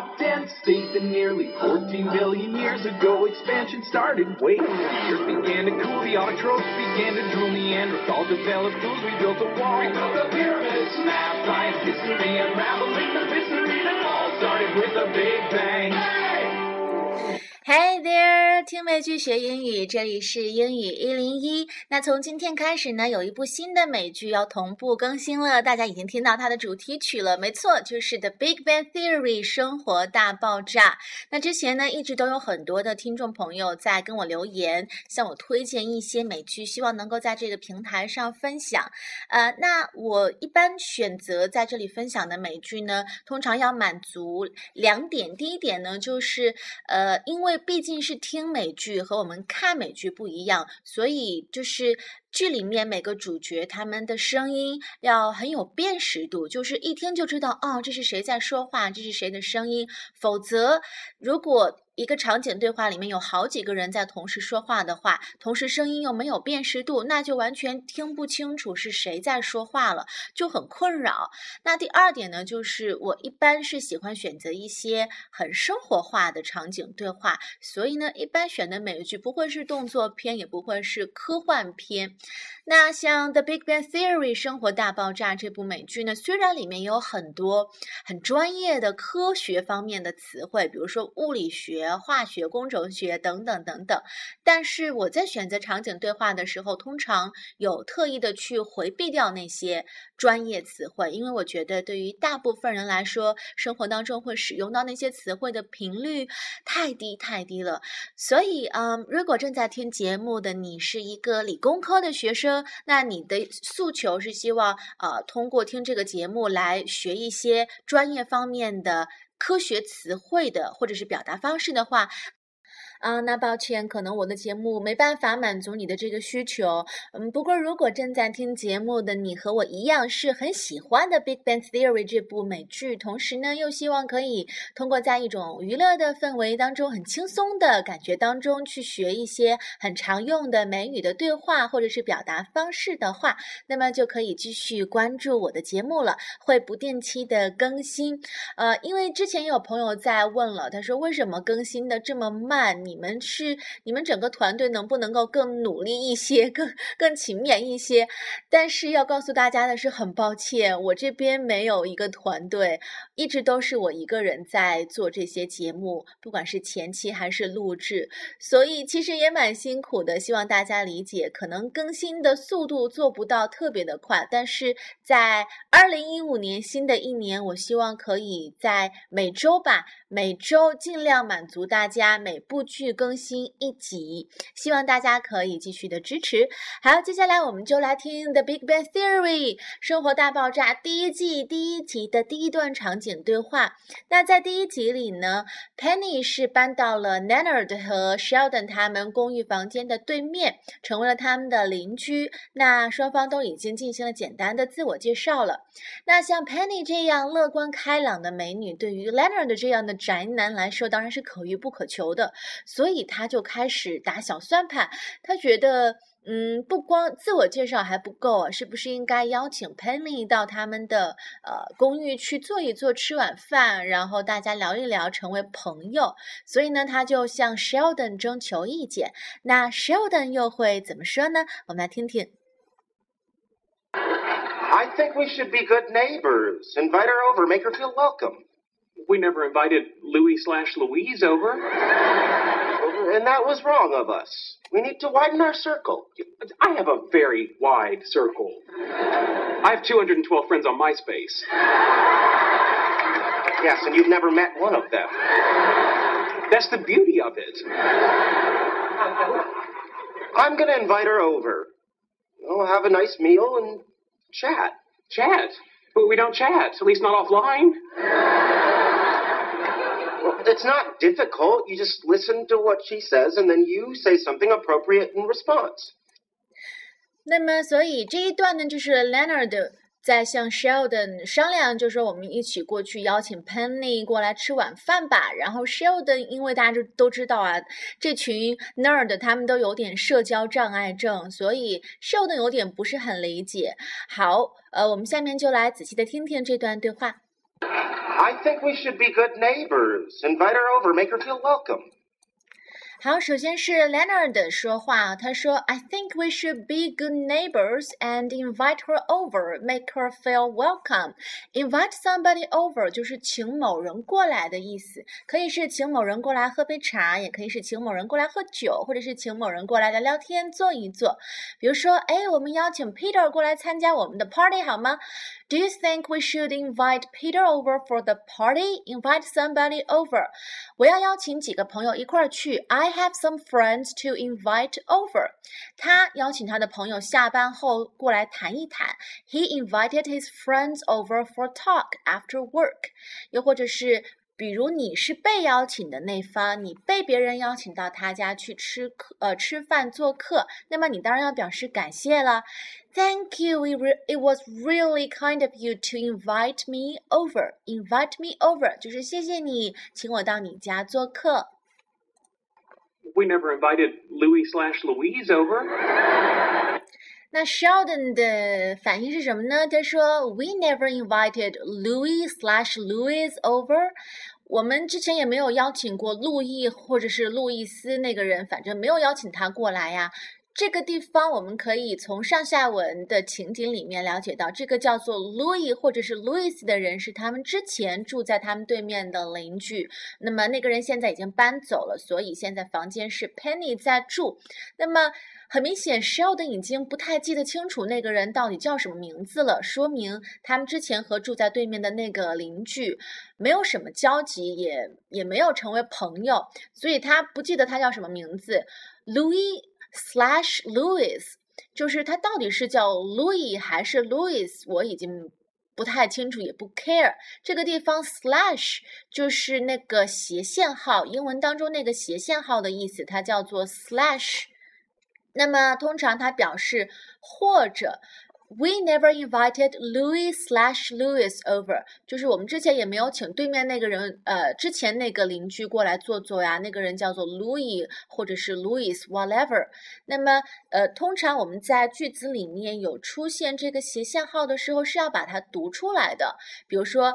not dense. Think that nearly 14 billion years ago expansion started. Wait, the earth began to cool, the autotrophs began to drool, Neanderthals developed tools, we built a wall. We built the pyramids, math, science, history, unraveling the mystery that all started with a big bang. Hey there， 听美剧学英语，这里是英语101。那从今天开始呢，有一部新的美剧要同步更新了，大家已经听到它的主题曲了，没错，就是 The Big Bang Theory 生活大爆炸。那之前呢，一直都有很多的听众朋友在跟我留言，向我推荐一些美剧，希望能够在这个平台上分享。那我一般选择在这里分享的美剧呢，通常要满足2点。第一点呢，就是因为毕竟是听美剧和我们看美剧不一样，所以就是剧里面每个主角他们的声音要很有辨识度，就是一听就知道哦，这是谁在说话，这是谁的声音。否则如果一个场景对话里面有好几个人在同时说话的话，同时声音又没有辨识度，那就完全听不清楚是谁在说话了，就很困扰。那第二点呢，就是我一般是喜欢选择一些很生活化的场景对话，所以呢，一般选的美剧不会是动作片，也不会是科幻片。那像 The Big Bang Theory 生活大爆炸这部美剧呢，虽然里面有很多很专业的科学方面的词汇，比如说物理学、化学、工程学等等等等，但是我在选择场景对话的时候，通常有特意的去回避掉那些专业词汇，因为我觉得对于大部分人来说，生活当中会使用到那些词汇的频率太低了。所以如果正在听节目的你是一个理工科的学生，那你的诉求是希望通过听这个节目来学一些专业方面的科学词汇的或者是表达方式的话，那抱歉，可能我的节目没办法满足你的这个需求。不过如果正在听节目的你和我一样是很喜欢的 Big Bang Theory 这部美剧，同时呢又希望可以通过在一种娱乐的氛围当中，很轻松的感觉当中去学一些很常用的美语的对话或者是表达方式的话，那么就可以继续关注我的节目了，会不定期的更新。因为之前有朋友在问了，他说为什么更新的这么慢？你们整个团队能不能够更努力一些，更勤勉一些？但是要告诉大家的是，很抱歉，我这边没有一个团队，一直都是我一个人在做这些节目，不管是前期还是录制，所以其实也蛮辛苦的，希望大家理解，可能更新的速度做不到特别的快，但是在2015年新的一年，我希望可以在每周尽量满足大家每部剧更新1集，希望大家可以继续的支持。好，接下来我们就来听 The Big Bang Theory 生活大爆炸第1季第1集的第一段场景对话。那在第1集里呢， Penny 是搬到了 Leonard 和 Sheldon 他们公寓房间的对面，成为了他们的邻居。那双方都已经进行了简单的自我介绍了。那像 Penny 这样乐观开朗的美女，对于 Leonard 这样的宅男来说当然是可遇不可求的，所以他就开始打小算盘。他觉得不光自我介绍还不够啊，是不是应该邀请 Penny 到他们的公寓去坐一坐，吃晚饭，然后大家聊一聊，成为朋友。所以呢，他就向 Sheldon 征求意见。那 Sheldon 又会怎么说呢？我们来听听。 I think we should be good neighbors. Invite her over, make her feel welcome. We never invited Louis/Louise over. And that was wrong of us. We need to widen our circle. I have a very wide circle. I have 212 friends on MySpace. Yes, and you've never met one of them. That's the beauty of it. I'm going to invite her over. We'll have a nice meal and chat. Chat? But we don't chat, at least not offline. Well, it's not difficult. You just listen to what she says, and then you say something appropriate in response. 那么，所以这一段呢，就是 Leonard 在向 Sheldon 商量，就说我们一起过去邀请 Penny 过来吃晚饭吧。然后 Sheldon 因为大家都知道啊，这群 nerd 他们都有点社交障碍症，所以 Sheldon 有点不是很理解。好，我们下面就来仔细的听听这段对话。 I think we should be good neighbors. Invite her over, make her feel welcome. 好，首先是 Leonard 说话，他说 I think we should be good neighbors and invite her over, make her feel welcome. Invite somebody over 就是请某人过来的意思，可以是请某人过来喝杯茶，也可以是请某人过来喝酒，或者是请某人过来聊聊天，坐一坐。比如说，我们邀请 Peter 过来参加我们的 party 好吗？ Do you think we should invite Peter over for the party? Invite somebody over. 我要邀请几个朋友一块儿去。I have some friends to invite over. 他邀请他的朋友下班后过来谈一谈。He invited his friends over for talk after work. 又或者是比如你是被邀请的那方，你被别人邀请到他家去吃饭做客，那么你当然要表示感谢了。Thank you, it was really kind of you to invite me over. Invite me over 就是谢谢你，请我到你家做客。 We never invited Louis/Louise over. 那 Sheldon 的反应是什么呢？他说 We never invited Louis/Louise over. 我们之前也没有邀请过路易或者是路易斯那个人，反正没有邀请他过来呀。这个地方我们可以从上下文的情景里面了解到，这个叫做 Louis 或者是 Louis 的人是他们之前住在他们对面的邻居，那么那个人现在已经搬走了，所以现在房间是 Penny 在住。那么很明显 Sheldon 已经不太记得清楚那个人到底叫什么名字了，说明他们之前和住在对面的那个邻居没有什么交集，也没有成为朋友，所以他不记得他叫什么名字。Louis/Louis 就是他到底是叫 Louis 还是 Louis， 我已经不太清楚，也不 care。 这个地方 slash 就是那个斜线号，英文当中那个斜线号的意思，它叫做 slash。 那么通常它表示或者We never invited Louis/Louis over. 就是我们之前也没有请对面那个人之前那个邻居过来坐坐呀，那个人叫做 Louis 或者是 Louis whatever. 那么通常我们在句子里面有出现这个斜线号的时候是要把它读出来的，比如说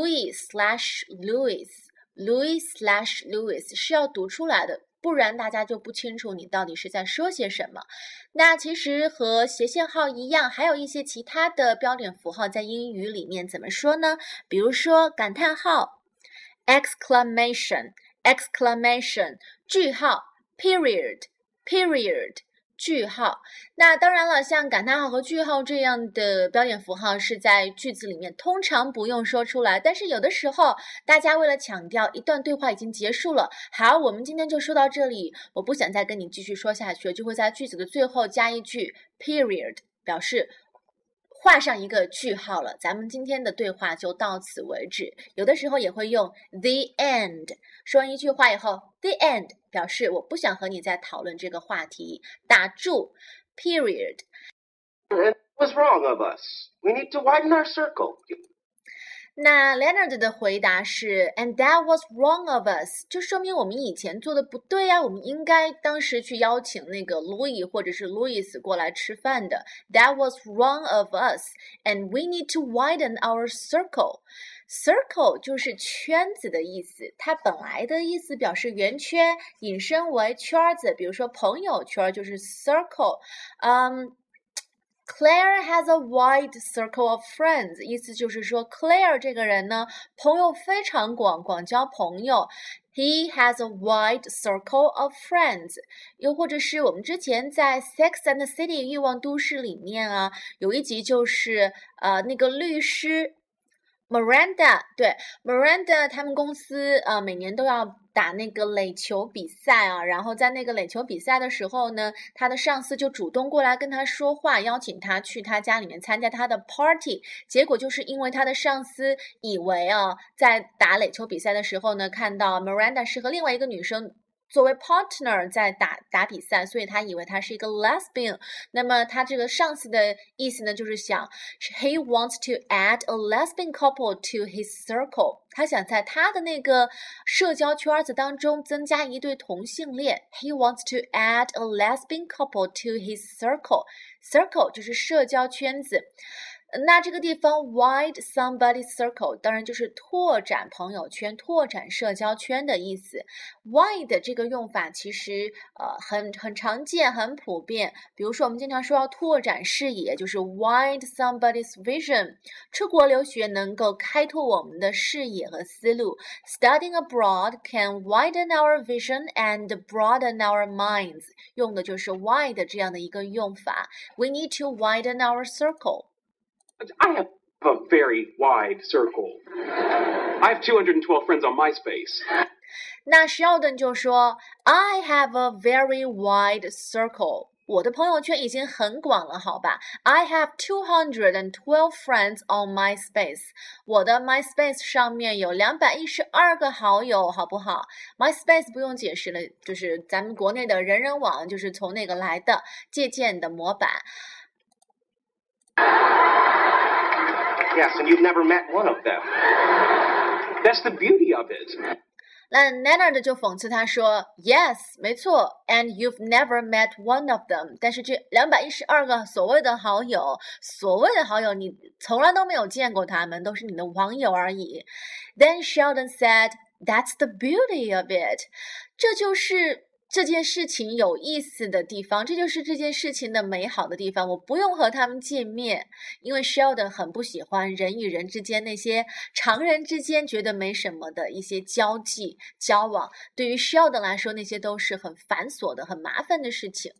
Louis/Louis Louis/Louis 是要读出来的，不然大家就不清楚你到底是在说些什么。那其实和斜线号一样，还有一些其他的标点符号在英语里面怎么说呢？比如说感叹号 exclamation 句号 period 句号。那当然了，像感叹号和句号这样的标点符号是在句子里面通常不用说出来，但是有的时候大家为了强调一段对话已经结束了，好，我们今天就说到这里，我不想再跟你继续说下去，就会在句子的最后加一句 period， 表示画上一个句号了，咱们今天的对话就到此为止。有的时候也会用 the end， 说完一句话以后 the end 表示我不想和你再讨论这个话题，打住 period。 It was wrong of us. We need to widen our circle. 那 Leonard 的回答是 And that was wrong of us， 就说明我们以前做的不对呀，我们应该当时去邀请那个 Louis 或者是 Louis 过来吃饭的。 That was wrong of us and we need to widen our circle。 Circle 就是圈子的意思，它本来的意思表示圆圈，引申为圈子，比如说朋友圈就是 circle。Claire has a wide circle of friends， 意思就是说 Claire 这个人呢，朋友非常广，广交朋友。He has a wide circle of friends。 又或者是我们之前在 Sex and the City 欲望都市里面啊，有一集就是那个律师Miranda， 对 Miranda 他们公司每年都要打那个垒球比赛啊，然后在那个垒球比赛的时候呢，他的上司就主动过来跟他说话，邀请他去他家里面参加他的 party。 结果就是因为他的上司以为在打垒球比赛的时候呢，看到 Miranda 是和另外一个女生作为 partner 在打比赛，所以他以为他是一个 lesbian。 那么他这个上司的意思呢，就是想 he wants to add a lesbian couple to his circle， 他想在他的那个社交圈子当中增加一对同性恋。 He wants to add a lesbian couple to his circle。 Circle 就是社交圈子。 那这个地方 wide somebody's circle 当然就是拓展朋友圈、拓展社交圈的意思。wide 这个用法其实很常见、很普遍。比如说我们经常说要拓展视野，就是 wide somebody's vision。出国留学能够开拓我们的视野和思路。Studying abroad can widen our vision and broaden our minds。用的就是 wide 这样的一个用法。We need to widen our circle.I have a very wide circle. I have 212 friends on MySpace. 那 Sheldon 就说 I have a very wide circle. 我的朋友圈已经很广了，好吧 I have 212 friends on MySpace. 我的 MySpace 上面有212个好友，好不好 MySpace 不用解释了，就是咱们国内的人人网，就是从那个来的，借鉴的模板。 Yes, and you've never met one of them. That's the beauty of it. 那 Leonard 就讽刺他说 Yes, 没错 and you've never met one of them. 但是这212个所谓的好友你从来都没有见过他们，都是你的网友而已。Then Sheldon said, That's the beauty of it. 这就是这件事情有意思的地方，这就是这件事情的美好的地方。我不用和他们见面，因为 Sheldon 很不喜欢人与人之间那些常人之间觉得没什么的一些交际交往。对于 Sheldon 来说，那些都是很繁琐的、很麻烦的事情。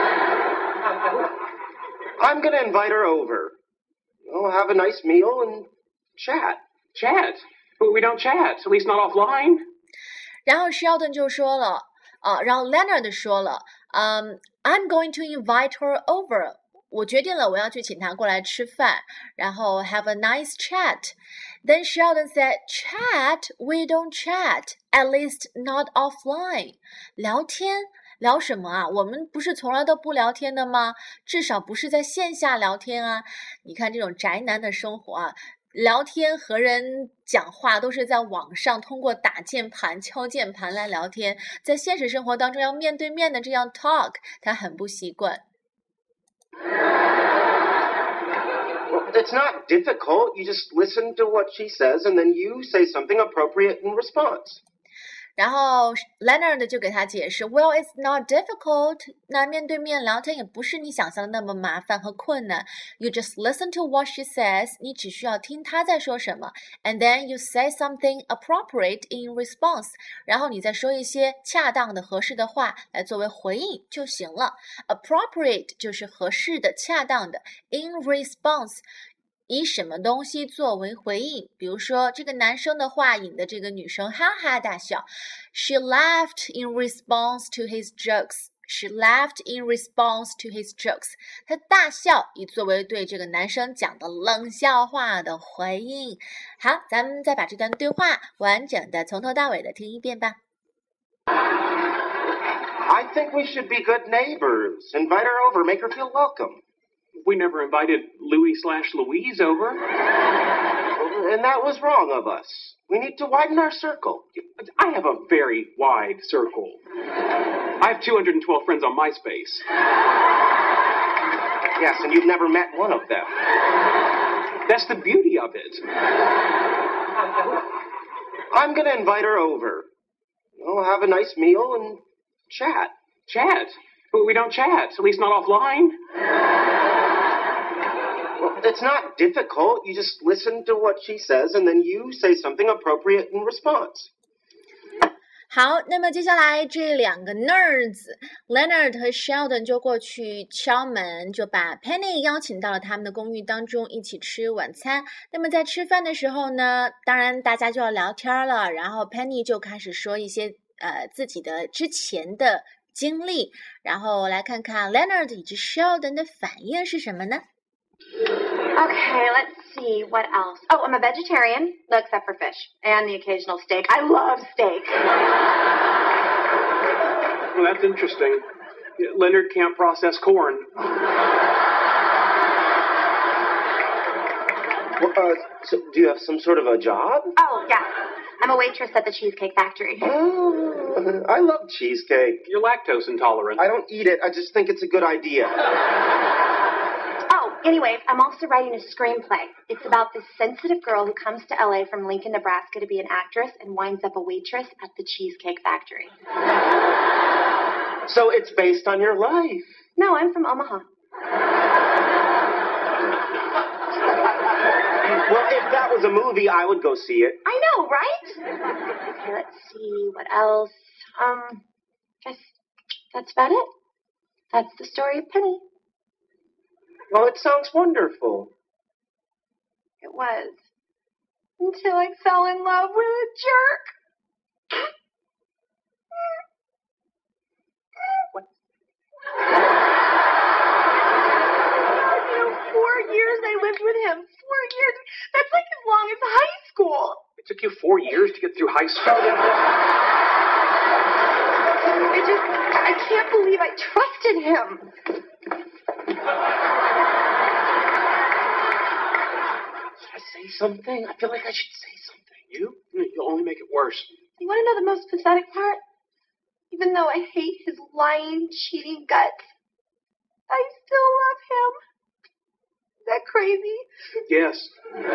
I'm going to invite her over. We'll have a nice meal and chat. Chat? But we don't chat, at least not offline. 然后 Sheldon 就说了。然后 Leonard 说了I'm going to invite her over. 我决定了，我要去请她过来吃饭，然后 have a nice chat. Then Sheldon said, Chat? We don't chat, at least not offline. 聊天？聊什么啊？我们不是从来都不聊天的吗？至少不是在线下聊天啊。你看这种宅男的生活啊，聊天和人讲话都是在网上通过打键盘、敲键盘来聊天，在现实生活当中要面对面的这样 talk， 他很不习惯。 Well, it's not difficult. You just listen to what she says and then you say something appropriate in response. 然后 Leonard 就给他解释 Well, it's not difficult. 那面对面聊天也不是你想象的那么麻烦和困难。You just listen to what she says. 你只需要听她在说什么 And then you say something appropriate in response. 然后你再说一些恰当的、合适的话来作为回应就行了。Appropriate 就是合适的、恰当的。In response以什么东西作为回应？比如说，这个男生的话引得这个女生哈哈大笑。She laughed in response to his jokes. She laughed in response to his jokes. 她大笑以作为对这个男生讲的冷笑话的回应。好，咱们再把这段对话完整的从头到尾的听一遍吧。 I think we should be good neighbors. Invite her over, make her feel welcome.We never invited Louis/Louise over. And that was wrong of us. We need to widen our circle. I have a very wide circle. I have 212 friends on MySpace. Yes, and you've never met one of them. That's the beauty of it. I'm going to invite her over. We'll have a nice meal and chat. Chat? But we don't chat, at least not offline.Well, it's not difficult. You just listen to what she says and then you say something appropriate in response. 好，那么接下来这两个 nerds Leonard 和 Sheldon 就过去敲门，就把 Penny 邀请到了他们的公寓当中一起吃晚餐。那么在吃饭的时候呢，当然大家就要聊天了，然后 Penny 就开始说一些自己的之前的经历，然后来看看 Leonard 以及 Sheldon 的反应是什么呢 Okay, let's see, what else? Oh, I'm a vegetarian, except for fish, and the occasional steak. I love steak. Well, that's interesting. Leonard can't process corn. Well, so do you have some sort of a job? Oh, yeah. I'm a waitress at the Cheesecake Factory. Oh, I love cheesecake. You're lactose intolerant. I don't eat it. I just think it's a good idea. Anyway, I'm also writing a screenplay. It's about this sensitive girl who comes to LA from Lincoln, Nebraska to be an actress and winds up a waitress at the Cheesecake Factory. So it's based on your life. No, I'm from Omaha. Well, if that was a movie, I would go see it. I know, right? Okay, let's see. What else? Guess that's about it. That's the story of Penny. Well, it sounds wonderful. It was. Until I fell in love with a jerk. What? 4 years I lived with him. 4 years. That's like as long as high school. It took you 4 years to get through high school. I can't believe I trusted him. Should I say something? I feel like I should say something. You'll only make it worse. You want to know the most pathetic part? Even though I hate his lying, cheating guts, I still love him. Is that crazy? Yes.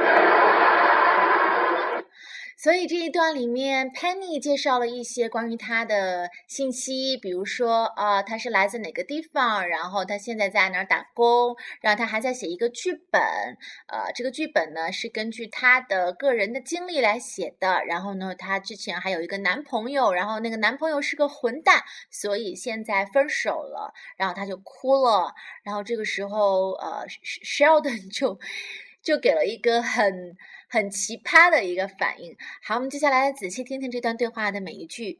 所以这一段里面 Penny 介绍了一些关于她的信息，比如说她是来自哪个地方，然后她现在在哪儿打工，然后她还在写一个剧本，这个剧本呢是根据她的个人的经历来写的，然后呢她之前还有一个男朋友，然后那个男朋友是个混蛋，所以现在分手了，然后她就哭了，然后这个时候Sheldon 就给了一个很奇葩的一个反应。好，我们接下来仔细听听这段对话的每一句。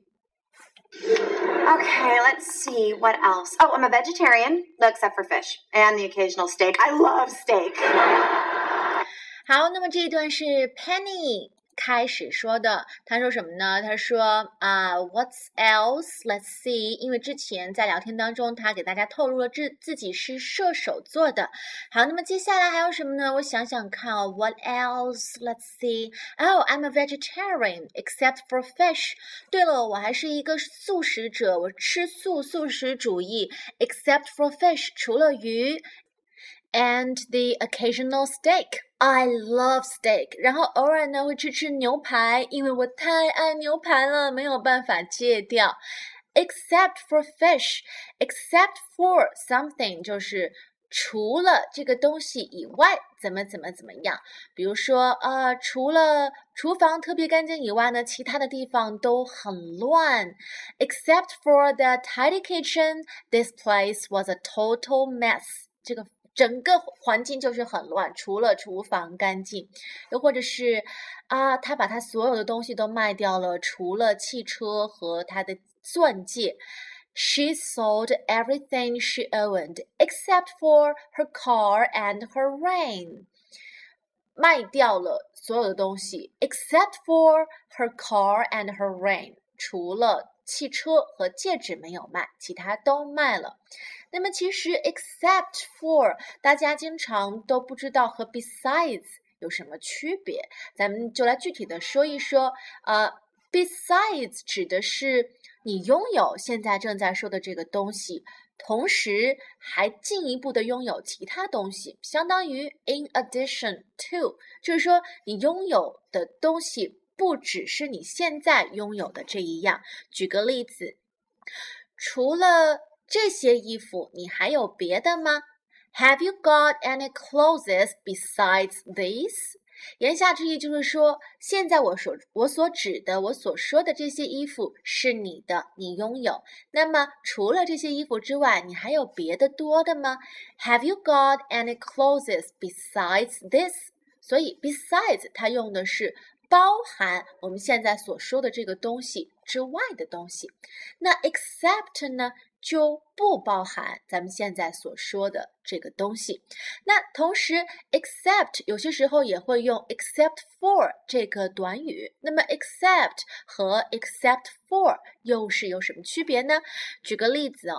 Okay, let's see. What else? Oh, I'm a vegetarian, except for fish and the occasional steak. I love steak. 好，那么这一段是 Penny 开始说的，他说什么呢？他说What's else? Let's see. 因为之前在聊天当中，他给大家透露了自己是射手座的。好，那么接下来还有什么呢？我想想看哦。What else? Let's see. Oh, I'm a vegetarian, except for fish. 对了，我还是一个素食者，我吃素食主义 ，except for fish， 除了鱼。And the occasional steak. I love steak. 然后偶尔呢会吃牛排，因为我太爱牛排了，没有办法戒掉。Except for fish. Except for something 就是除了这个东西以外，怎么样。比如说除了厨房特别干净以外呢，其他的地方都很乱。Except for the tidy kitchen, this place was a total mess. 这个整个环境就是很乱，除了厨房干净。又或者是他把他所有的东西都卖掉了，除了汽车和他的钻戒。She sold everything she owned except for her car and her ring. 卖掉了所有的东西 except for her car and her ring. 除了汽车和戒指没有卖，其他都卖了。那么其实 except for 大家经常都不知道和 besides 有什么区别，咱们就来具体的说一说。besides 指的是你拥有现在正在说的这个东西，同时还进一步的拥有其他东西，相当于 in addition to， 就是说你拥有的东西不只是你现在拥有的这一样。举个例子，除了这些衣服，你还有别的吗？ Have you got any clothes besides these? 言下之意就是说，现在我所指的，我所说的这些衣服是你的，你拥有。那么除了这些衣服之外，你还有别的多的吗？ Have you got any clothes besides this? 所以 besides 它用的是包含我们现在所说的这个东西之外的东西。那 except 呢，就不包含咱们现在所说的这个东西。那同时 except 有些时候也会用 except for 这个短语。那么 except 和 except for 又是有什么区别呢？举个例子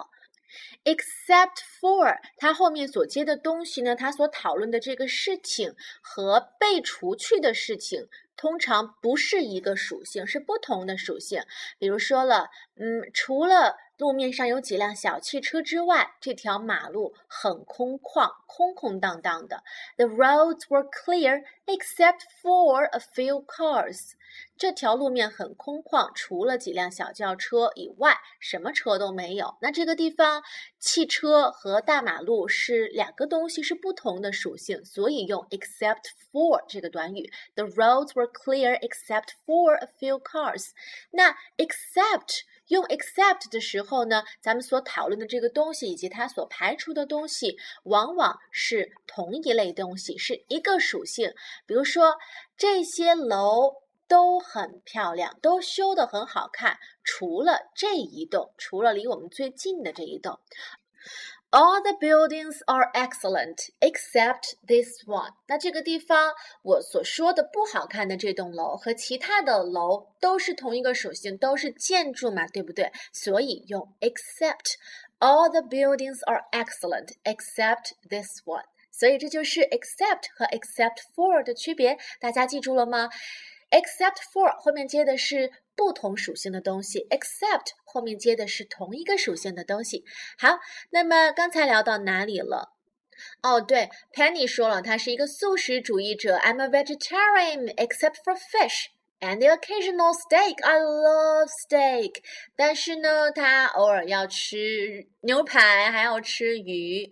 Except for 它后面所接的东西呢，它所讨论的这个事情和被除去的事情通常不是一个属性，是不同的属性。比如说了，除了路面上有几辆小汽车之外，这条马路很空旷，空空荡荡的。The roads were clear except for a few cars. 这条路面很空旷，除了几辆小轿车以外，什么车都没有。那这个地方，汽车和大马路是两个东西，是不同的属性，所以用 except for 这个短语。The roads were clear except for a few cars. 那 except用 except 的时候呢，咱们所讨论的这个东西以及它所排除的东西，往往是同一类东西，是一个属性。比如说，这些楼都很漂亮，都修得很好看，除了这一栋，除了离我们最近的这一栋。All the buildings are excellent except this one. 那这个地方我所说的不好看的这栋楼和其他的楼都是同一个属性，都是建筑嘛，对不对？所以用 except. All the buildings are excellent except this one. 所以这就是 except 和 except for 的区别，大家记住了吗？Except for 后面接的是不同属性的东西 ，except 后面接的是同一个属性的东西。好，那么刚才聊到哪里了？哦，对 ，Penny 说了，她是一个素食主义者。I'm a vegetarian except for fish and the occasional steak. I love steak. 但是呢，她偶尔要吃牛排，还要吃鱼。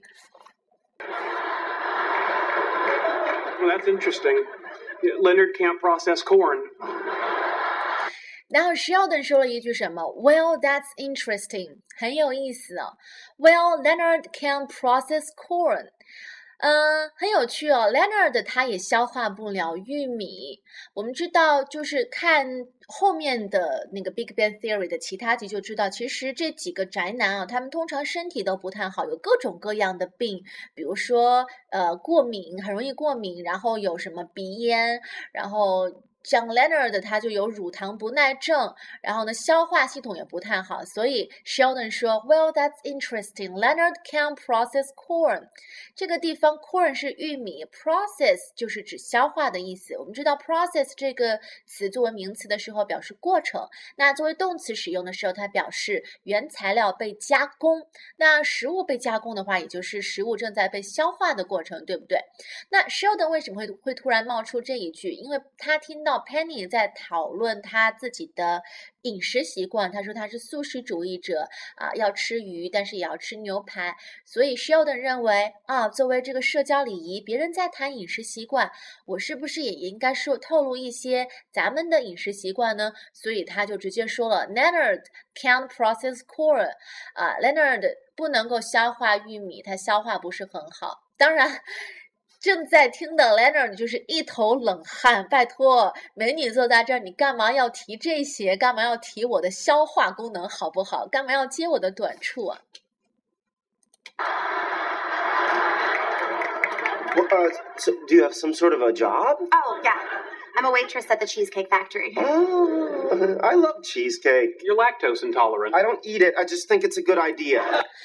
Well, that's interesting.Leonard can't process corn. 然后 Sheldon 说了一句什么 ？Well, that's interesting， 很有意思哦。Well, Leonard can process corn， 很有趣哦。Leonard 他也消化不了玉米。我们知道，就是看后面的那个 Big Bang Theory 的其他集就知道，其实这几个宅男啊，他们通常身体都不太好，有各种各样的病，比如说过敏，很容易过敏，然后有什么鼻炎，然后像 Leonard 他就有乳糖不耐症，然后呢消化系统也不太好，所以 Sheldon 说 Well, that's interesting. Leonard can process corn. 这个地方 corn 是玉米 process 就是指消化的意思。我们知道 process 这个词作为名词的时候表示过程，那作为动词使用的时候它表示原材料被加工，那食物被加工的话也就是食物正在被消化的过程，对不对？那 Sheldon 为什么会突然冒出这一句？因为他听到Penny 在讨论他自己的饮食习惯，他说他是素食主义者要吃鱼，但是也要吃牛排，所以 Sheldon 认为作为这个社交礼仪，别人在谈饮食习惯，我是不是也应该透露一些咱们的饮食习惯呢？所以他就直接说了 Leonard can't process corn. Leonard 不能够消化玉米，他消化不是很好。当然正在听的 Leonard 就是一头冷汗，拜托，美女坐在这儿，你干嘛要提这些？干嘛要提我的消化功能好不好？干嘛要接我的短处啊 So do you have some sort of a job? Oh, yeah. I'm a waitress at the Cheesecake Factory. Oh, I love cheesecake. You're lactose intolerant. I don't eat it. I just think it's a good idea.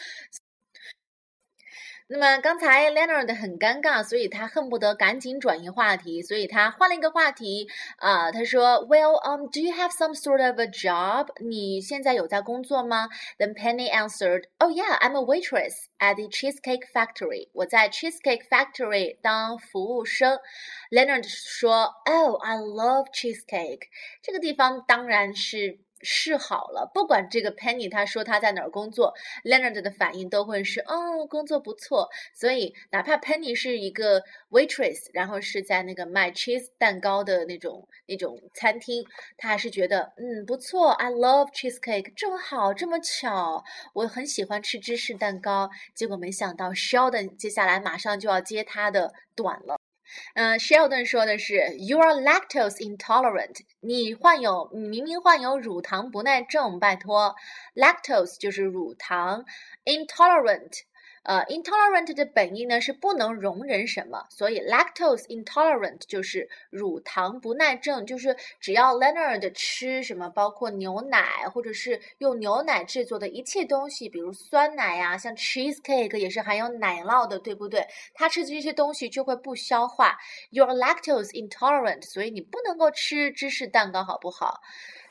那么刚才 Leonard 很尴尬，所以他恨不得赶紧转移话题，所以他换了一个话题他说 Well, do you have some sort of a job? 你现在有在工作吗？ Then Penny answered, Oh yeah, I'm a waitress at the Cheesecake Factory. 我在 Cheesecake Factory 当服务生。Leonard 说 Oh, I love cheesecake. 这个地方当然是好了，不管这个 Penny 他说他在哪儿工作 Leonard 的反应都会是工作不错，所以哪怕 Penny 是一个 waitress 然后是在那个卖 cheese 蛋糕的那种餐厅，他还是觉得不错 I love cheesecake 正好这么巧，我很喜欢吃芝士蛋糕。结果没想到 Sheldon 接下来马上就要接他的短了。Sheldon 说的是 You are lactose intolerant. 你明明患有乳糖不耐症，拜托 Lactose 就是乳糖 Intolerant。Intolerant 的本意呢是不能容忍什么，所以 lactose intolerant 就是乳糖不耐症，就是只要 Leonard 吃什么，包括牛奶或者是用牛奶制作的一切东西，比如酸奶呀，像 cheesecake 也是含有奶酪的，对不对？他吃这些东西就会不消化。You're lactose intolerant， 所以你不能够吃芝士蛋糕，好不好？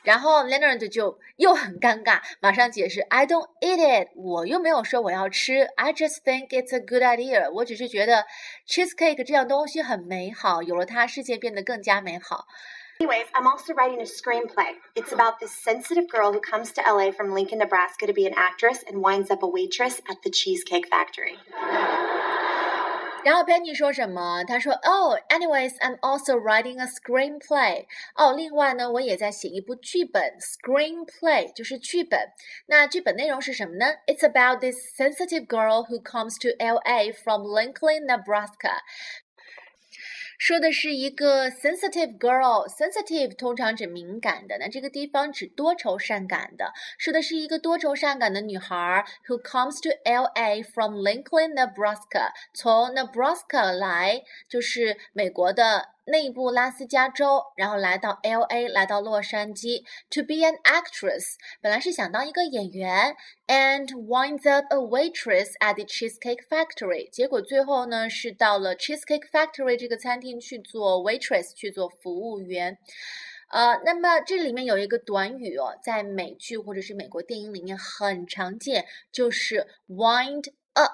然后 Leonard 就又很尴尬，马上解释 I don't eat it， 我又没有说我要吃 I just think it's a good idea， 我只是觉得 cheesecake 这样东西很美好，有了它世界变得更加美好。 Anyways, I'm also writing a screenplay. It's about this sensitive girl who comes to LA from Lincoln, Nebraska to be an actress and winds up a waitress at the Cheesecake Factory. 然后 Penny 说什么？他说 Oh, anyways, I'm also writing a screenplay. 另外呢，我也在写一部剧本 Screenplay 就是剧本。那剧本内容是什么呢？ It's about this sensitive girl who comes to LA from Lincoln, Nebraska.说的是一个 sensitive girl， sensitive 通常指敏感的，那这个地方指多愁善感的，说的是一个多愁善感的女孩 who comes to LA from Lincoln, Nebraska， 从 Nebraska 来，就是美国的内部拉斯加州，然后来到 LA， 来到洛杉矶 to be an actress， 本来是想当一个演员 and winds up a waitress at the Cheesecake Factory， 结果最后呢是到了 Cheesecake Factory 这个餐厅去做 waitress， 去做服务员。那么这里面有一个短语在美剧或者是美国电影里面很常见，就是 wind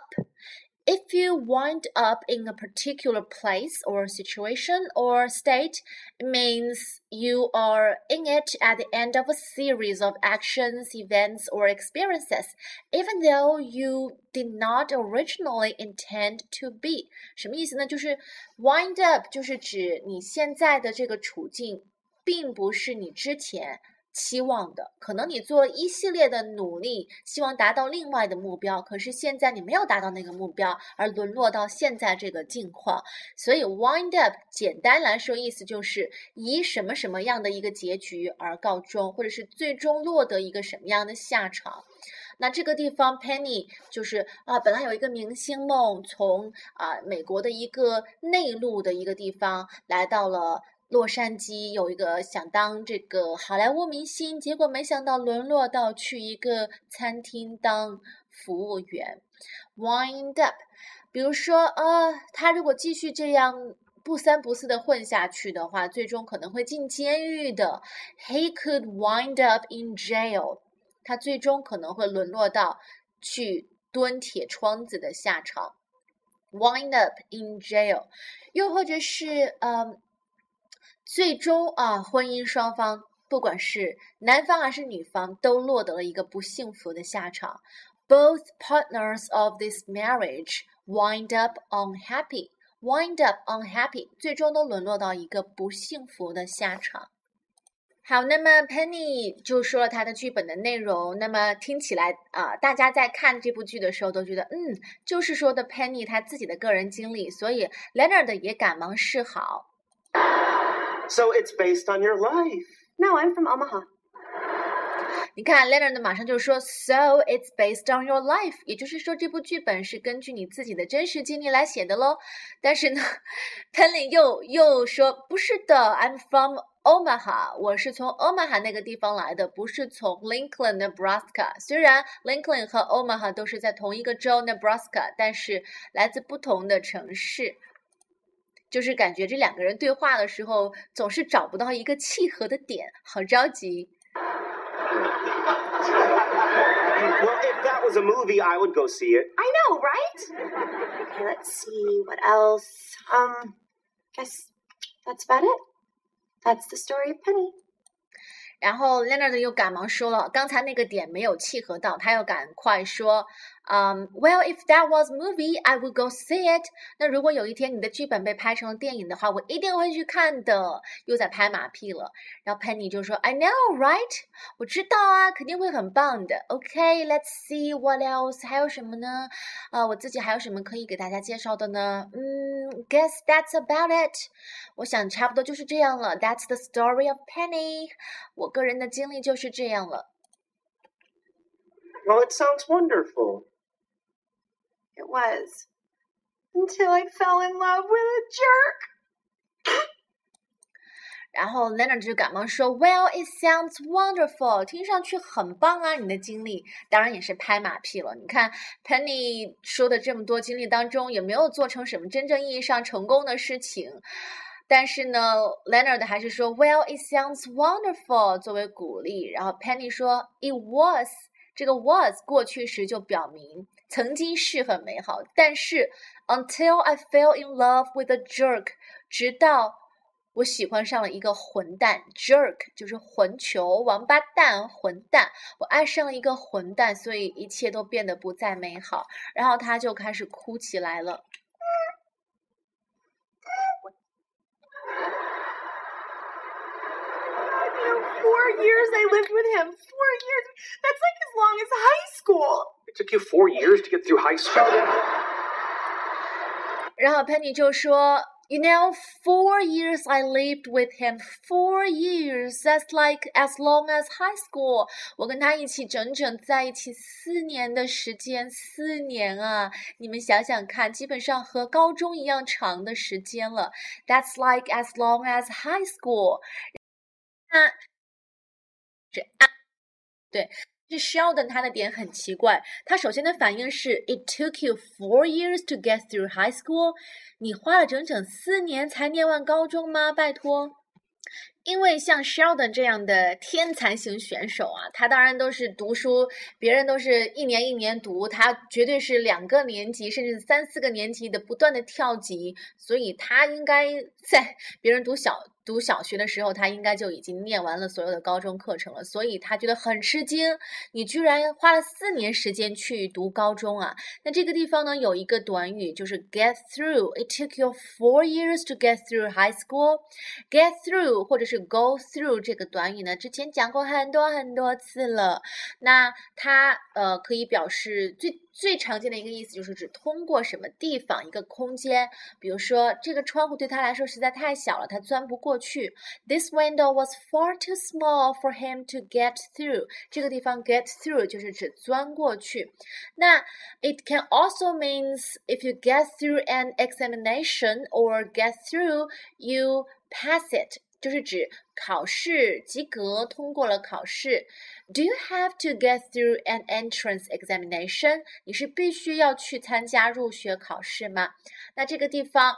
up。If you wind up in a particular place or situation or state, it means you are in it at the end of a series of actions, events, or experiences, even though you did not originally intend to be. 什么意思呢？就是 wind up 就是指你现在的这个处境并不是你之前期望的，可能你做了一系列的努力，希望达到另外的目标，可是现在你没有达到那个目标，而沦落到现在这个境况。所以 wind up 简单来说意思就是以什么什么样的一个结局而告终，或者是最终落得一个什么样的下场。那这个地方 Penny 就是本来有一个明星梦，从美国的一个内陆的一个地方来到了洛杉矶，有一个想当这个好莱坞明星，结果没想到沦落到去一个餐厅当服务员 wind up。 比如说他如果继续这样不三不四的混下去的话，最终可能会进监狱的 He could wind up in jail， 他最终可能会沦落到去蹲铁窗子的下场 wind up in jail。 又或者是最终婚姻双方不管是男方还是女方都落得了一个不幸福的下场 Both partners of this marriage wind up unhappy， wind up unhappy 最终都沦落到一个不幸福的下场。好，那么 Penny 就说了她的剧本的内容，那么听起来大家在看这部剧的时候都觉得就是说的 Penny 她自己的个人经历，所以 Leonard 也赶忙示好。 So it's based on your life. No, I'm from Omaha. 你看 Leonard 马上就说 So it's based on your life， 也就是说这部剧本是根据你自己的真实经历来写的咯。但是呢 Penny 又说不是的 I'm from Omaha， 我是从 Omaha 那个地方来的，不是从 Lincoln, Nebraska。 虽然 Lincoln 和 Omaha 都是在同一个州 Nebraska， 但是来自不同的城市，就是感觉这两个人对话的时候总是找不到一个契合的点，好着急。 Well, if that was a movie, I would go see it. I know, right? Okay, let's see. What else? Guess that's about it. That's the story of Penny. 然后 Leonard 又赶忙说了，刚才那个点没有契合到，他又赶快说Well, if that was movie, I would go see it. 那如果有一天你的剧本被拍成了电影的话，我一定会去看的。又在拍马屁了。然后 Penny 就说 I know, right? 我知道啊，肯定会很棒的。Okay, let's see what else. 还有什么呢？我自己还有什么可以给大家介绍的呢？Guess that's about it. 我想差不多就是这样了。That's the story of Penny. 我个人的经历就是这样了。 Well, it sounds wonderful. It was. Until I fell in love with a jerk. 然后 Leonard 就赶忙说 Well, it sounds wonderful. 听上去很棒啊，你的经历。当然也是拍马屁了。你看 Penny 说的这么多经历当中，也没有做成什么真正意义上成功的事情。 但是呢 Leonard 还是说 Well, it sounds wonderful 作为鼓励，然后 Penny 说 It was， 这个 was 过去时就表明曾经是很美好，但是 Until I fell in love with a jerk， 直到我喜欢上了一个混蛋 jerk 就是混球王八蛋混蛋，我爱上了一个混蛋，所以一切都变得不再美好，然后他就开始哭起来了。 4 years I lived with him. 4 years. That's like as long as high school. It took you 4 years to get through high school. 然后 Penny 就说 You know, 4 years I lived with him. 4 years. That's like as long as high school. 我跟他一起整整在一起4年的时间，4年啊！你们想想看，基本上和高中一样长的时间了。That's like as long as high school. 对，是 Sheldon 他的点很奇怪，他首先的反应是 It took you 4 years to get through high school， 你花了整整4年才念完高中吗？拜托。因为像 Sheldon 这样的天才型选手啊，他当然都是读书，别人都是一年一年读，他绝对是2个年级甚至3、4个年级的不断的跳级，所以他应该在别人读小学的时候，他应该就已经念完了所有的高中课程了，所以他觉得很吃惊，你居然花了4年时间去读高中啊。那这个地方呢，有一个短语就是 get through. It took you 4 years to get through high school. Get through 或者是 go through 这个短语呢，之前讲过很多次了。那它可以表示最常见的一个意思就是指通过什么地方一个空间，比如说这个窗户对他来说实在太小了，他钻不过去。This window was far too small for him to get through. 这个地方 get through 就是指钻过去。那 it can also means if you get through an examination or get through, you pass it.就是指考试及格，通过了考试。Do you have to get through an entrance examination? 你是必须要去参加入学考试吗？那这个地方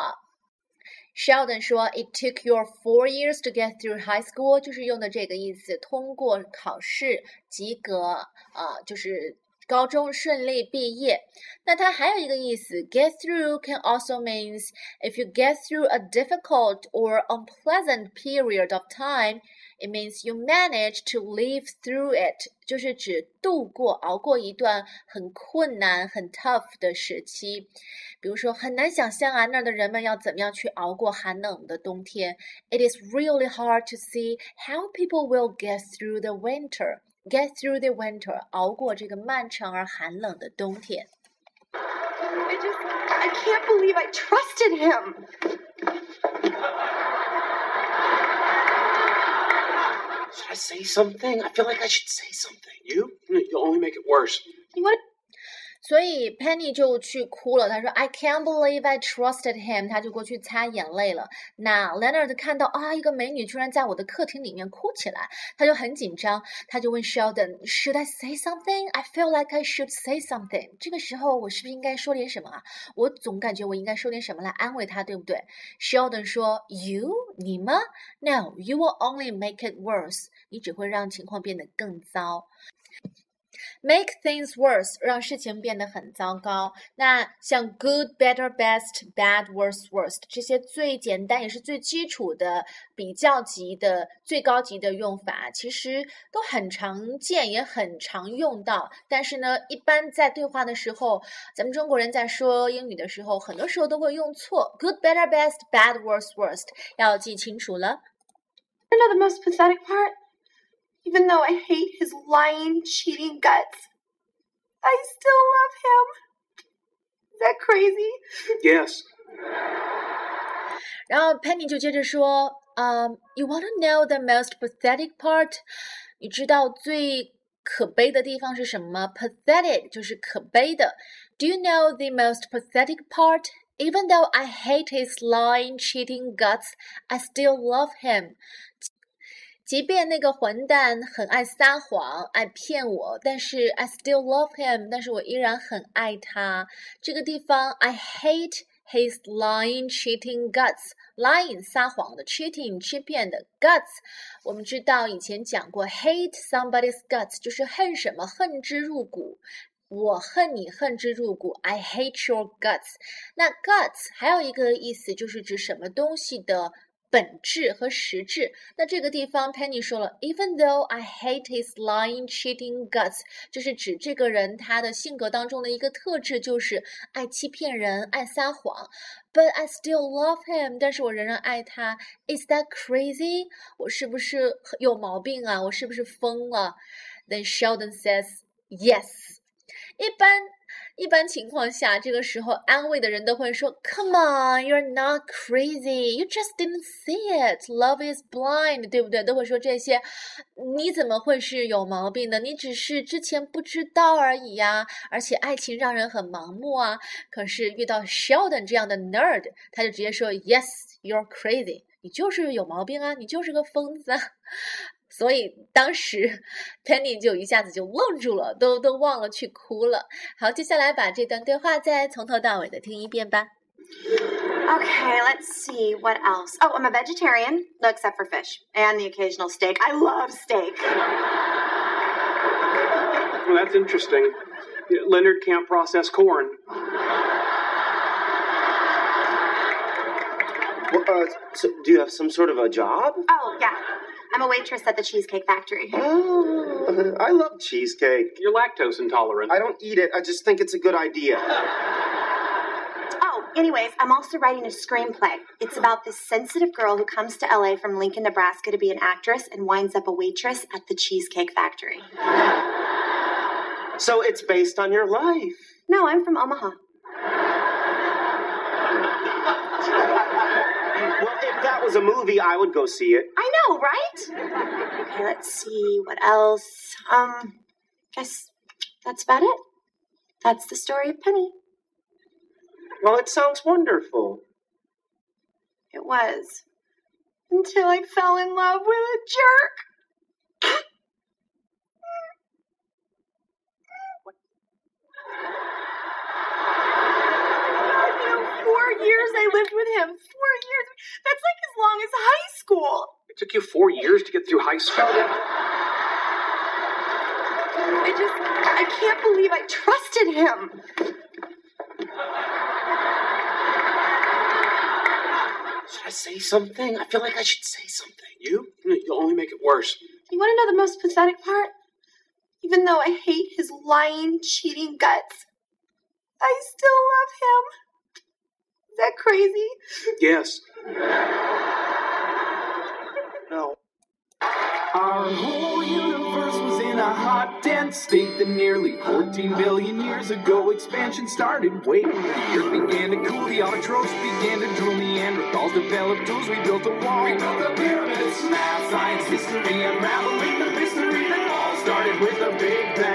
Sheldon 说 It took you 4 years to get through high school 就是用的这个意思，通过考试及格就是高中顺利毕业。那它还有一个意思 get through can also means if you get through a difficult or unpleasant period of time, it means you manage to live through it 就是指熬过一段很困难很 tough 的时期。比如说很难想象啊，那儿的人们要怎么样去熬过寒冷的冬天。 It is really hard to see how people will get through the winter.Get through the winter 熬过这个漫长而寒冷的冬天。 I can't believe I trusted him. Should I say something? I feel like I should say something. You'll only make it worse. You want to 所以 Penny 就去哭了，他说 I can't believe I trusted him， 他就过去擦眼泪了。那 Leonard 看到一个美女居然在我的客厅里面哭起来，他就很紧张，他就问 Sheldon Should I say something? I feel like I should say something。 这个时候我是不是应该说点什么啊？我总感觉我应该说点什么来安慰他，对不对？ Sheldon 说 You? 你吗？ No, you will only make it worse。 你只会让情况变得更糟。Make things worse 让事情变得很糟糕。那像 good, better, best, bad, worst, worst 这些最简单也是最基础的比较级的最高级的用法，其实都很常见也很常用到，但是呢一般在对话的时候，咱们中国人在说英语的时候很多时候都会用错。 Good, better, best, bad, worst, worst 要记清楚了。 You know the most pathetic part?Even though I hate his lying, cheating guts, I still love him. Is that crazy? Yes. 然后 Penny 就接着说You want to know the most pathetic part? 你知道最可悲的地方是什么吗？ Pathetic 就是可悲的。 Do you know the most pathetic part? Even though I hate his lying, cheating guts, I still love him.即便那个混蛋很爱撒谎爱骗我，但是 I still love him 但是我依然很爱他。这个地方 I hate his lying, cheating guts. Lying 撒谎的 cheating 欺骗的 guts 我们知道以前讲过 hate somebody's guts 就是恨什么恨之入骨我恨你恨之入骨 I hate your guts 那 guts 还有一个意思就是指什么东西的本质和实质那这个地方 Penny 说了 Even though I hate his lying, cheating guts 就是指这个人他的性格当中的一个特质就是爱欺骗人爱撒谎 But I still love him 但是我仍然爱他 Is that crazy? 我是不是有毛病啊我是不是疯了 Then Sheldon says Yes 一般情况下这个时候安慰的人都会说 Come on, you're not crazy. You just didn't see it. Love is blind. 对不对？都会说这些你怎么会是有毛病的？你只是之前不知道而已呀。而且爱情让人很盲目啊。可是遇到 Sheldon 这样的 nerd 他就直接说 Yes, you're crazy. 你就是有毛病啊，你就是个疯子啊。所以当时 Penny 就一下子就愣住了都忘了去哭了好接下来把这段对话再从头到尾的听一遍吧 Okay, let's see what else. Oh, I'm a vegetarian, except for fish and the occasional steak. I love steak. Well, that's interesting. Leonard can't process corn. So do you have some sort of a job? Oh, yeah. I'm a waitress at the Cheesecake Factory. Oh, I love cheesecake. You're lactose intolerant. I don't eat it. I just think it's a good idea. Oh, anyways, I'm also writing a screenplay. It's about this sensitive girl who comes to LA from Lincoln, Nebraska to be an actress and winds up a waitress at the Cheesecake Factory. So it's based on your life. No, I'm from Omaha. Well, if that was a movie, I would go see it. I know, right? Okay, let's see. What else? Guess that's about it. That's the story of Penny. Well, it sounds wonderful. It was. Until I fell in love with a jerk. You know, 4 years I lived with him. 4 years. That's like as long as high school. It took you 4 years to get through high school. I can't believe I trusted him. Should I say something? I feel like I should say something. You'll only make it worse. You want to know the most pathetic part? Even though I hate his lying, cheating guts, I still love him. Is that crazy? Yes. No. Our whole universe was in a hot, dense state that nearly 14 billion years ago expansion started. Wait, the earth began to cool, the autotrophs began to drool, Neanderthals developed tools, we built a wall. We built the pyramids, math, science, history, unraveling the mystery that all started with a big bang.